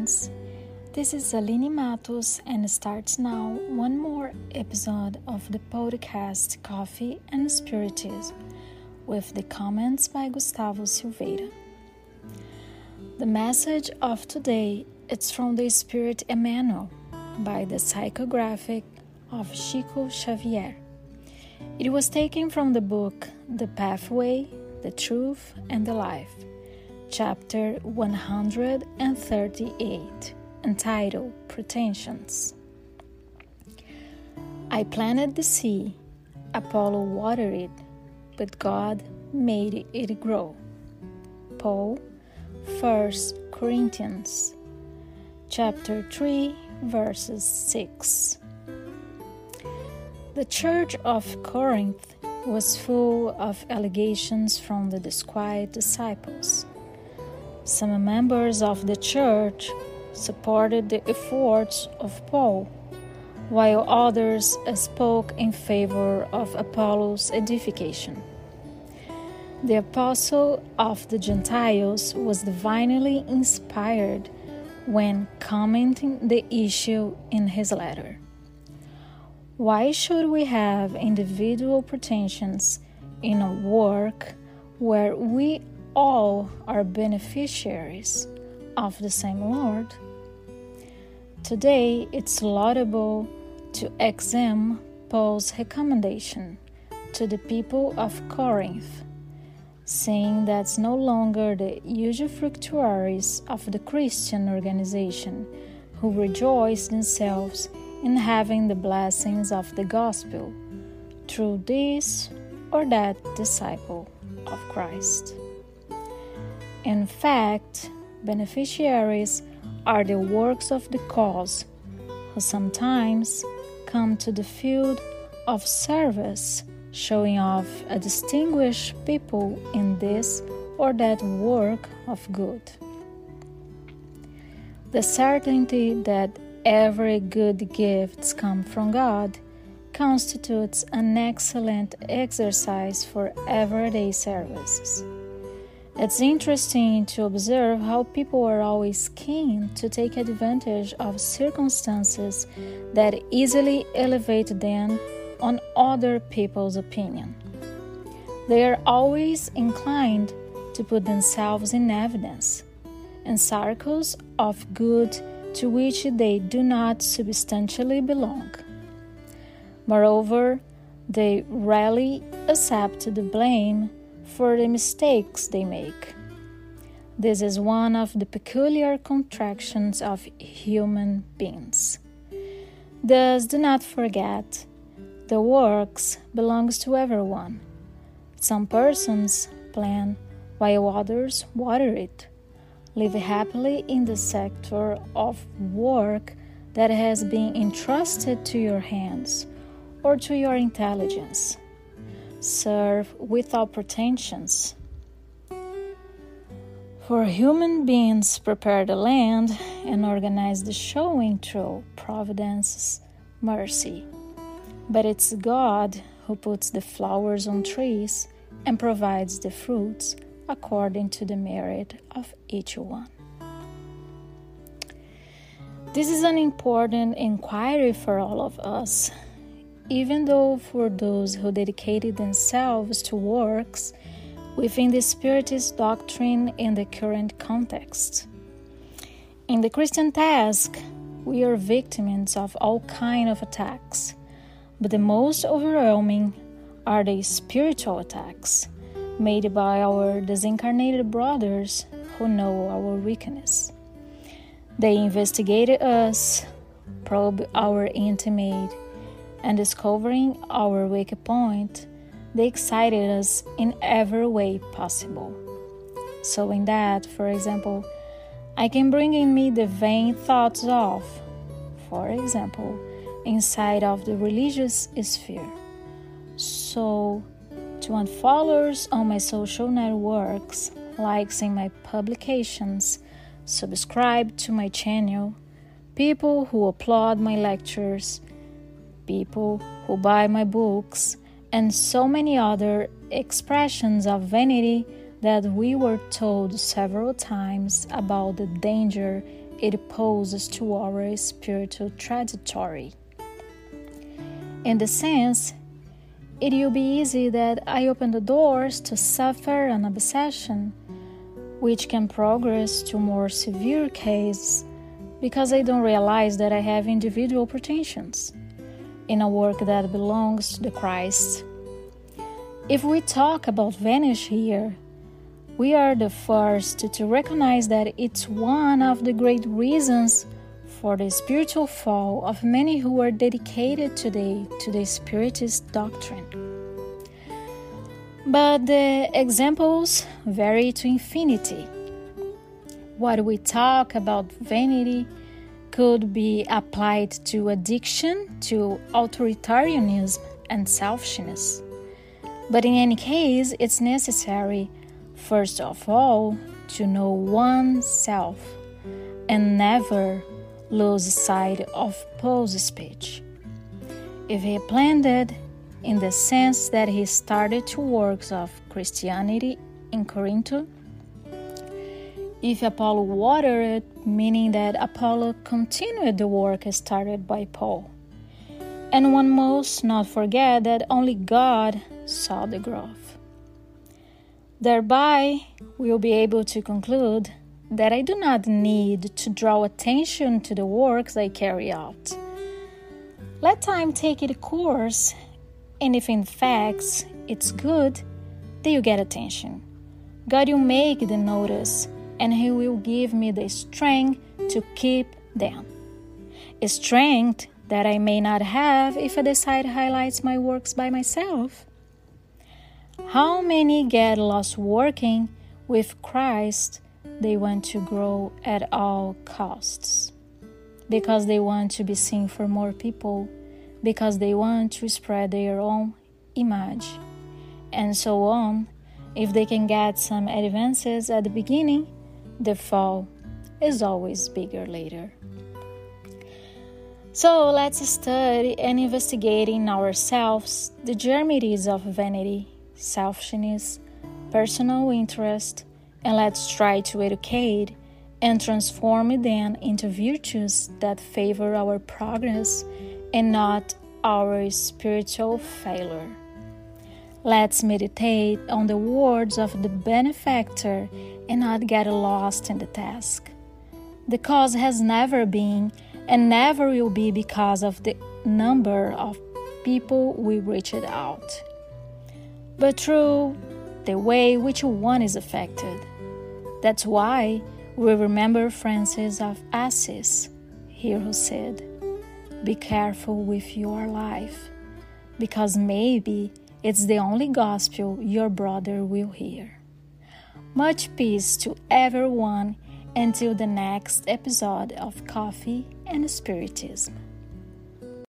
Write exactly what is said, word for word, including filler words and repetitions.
friends. This is Aline Matos and starts now one more episode of the podcast Coffee and Spiritism with the comments by Gustavo Silveira. The message of today is from the Spirit Emmanuel by the psychographic of Chico Xavier. It was taken from the book The Pathway, the Truth and the Life, chapter one hundred thirty-eight, entitled Pretensions. I planted the sea, Apollo watered it, but God made it grow. Paul, First Corinthians, chapter three, verses six. The church of Corinth was full of allegations from the disquiet disciples. Some members of the church supported the efforts of Paul, while others spoke in favor of Apollos' edification. The apostle of the Gentiles was divinely inspired when commenting the issue in his letter. Why should we have individual pretensions in a work where we all are beneficiaries of the same Lord? Today, it's laudable to examine Paul's recommendation to the people of Corinth, saying that's no longer the usufructuaries of the Christian organization who rejoice themselves in having the blessings of the gospel through this or that disciple of Christ. In fact, beneficiaries are the works of the cause who sometimes come to the field of service, showing off a distinguished people in this or that work of good. The certainty that every good gift comes from God constitutes an excellent exercise for everyday services. It's interesting to observe how people are always keen to take advantage of circumstances that easily elevate them on other people's opinion. They are always inclined to put themselves in evidence in circles of good to which they do not substantially belong. Moreover, they rarely accept the blame for the mistakes they make. This is one of the peculiar contractions of human beings. Thus, do not forget, the works belongs to everyone. Some persons plan while others water it. Live happily in the sector of work that has been entrusted to your hands or to your intelligence. Serve without pretensions. For human beings prepare the land and organize the showing through providence's mercy. But it's God who puts the flowers on trees and provides the fruits according to the merit of each one. This is an important inquiry for all of us, even though for those who dedicated themselves to works within the Spiritist doctrine in the current context. In the Christian task, we are victims of all kinds of attacks, but the most overwhelming are the spiritual attacks made by our disincarnated brothers who know our weakness. They investigated us, probed our intimate, and discovering our weak point, they excited us in every way possible. So in that, for example, I can bring in me the vain thoughts of, for example, inside of the religious sphere. So, to want followers on my social networks, likes in my publications, subscribe to my channel, people who applaud my lectures, people who buy my books, and so many other expressions of vanity that we were told several times about the danger it poses to our spiritual trajectory. In the sense, it will be easy that I open the doors to suffer an obsession, which can progress to more severe cases because I don't realize that I have individual pretensions in a work that belongs to the Christ. If we talk about vanish here, we are the first to recognize that it's one of the great reasons for the spiritual fall of many who are dedicated today to the Spiritist doctrine. But the examples vary to infinity. What we talk about vanity could be applied to addiction, to authoritarianism and selfishness. But in any case, it's necessary, first of all, to know oneself and never lose sight of Paul's speech. If he planted in the sense that he started two works of Christianity in Corinth, if Apollo watered it, meaning that Apollo continued the work started by Paul. And one must not forget that only God saw the growth. Thereby, we will be able to conclude that I do not need to draw attention to the works I carry out. Let time take its course, and if in fact it's good, then you get attention. God will make the notice, and He will give me the strength to keep them. A strength that I may not have if I decide to highlight my works by myself. How many get lost working with Christ? They want to grow at all costs, because they want to be seen for more people, because they want to spread their own image, and so on. If they can get some advances at the beginning, the fall is always bigger later. So let's study and investigate in ourselves the germities of vanity, selfishness, personal interest, and let's try to educate and transform them into virtues that favor our progress and not our spiritual failure. Let's meditate on the words of the benefactor and not get lost in the task. The cause has never been and never will be because of the number of people we reached out, but through the way which one is affected. That's why we remember Francis of Assisi here who said, "Be careful with your life, because maybe it's the only gospel your brother will hear." Much peace to everyone until the next episode of Coffee and Spiritism.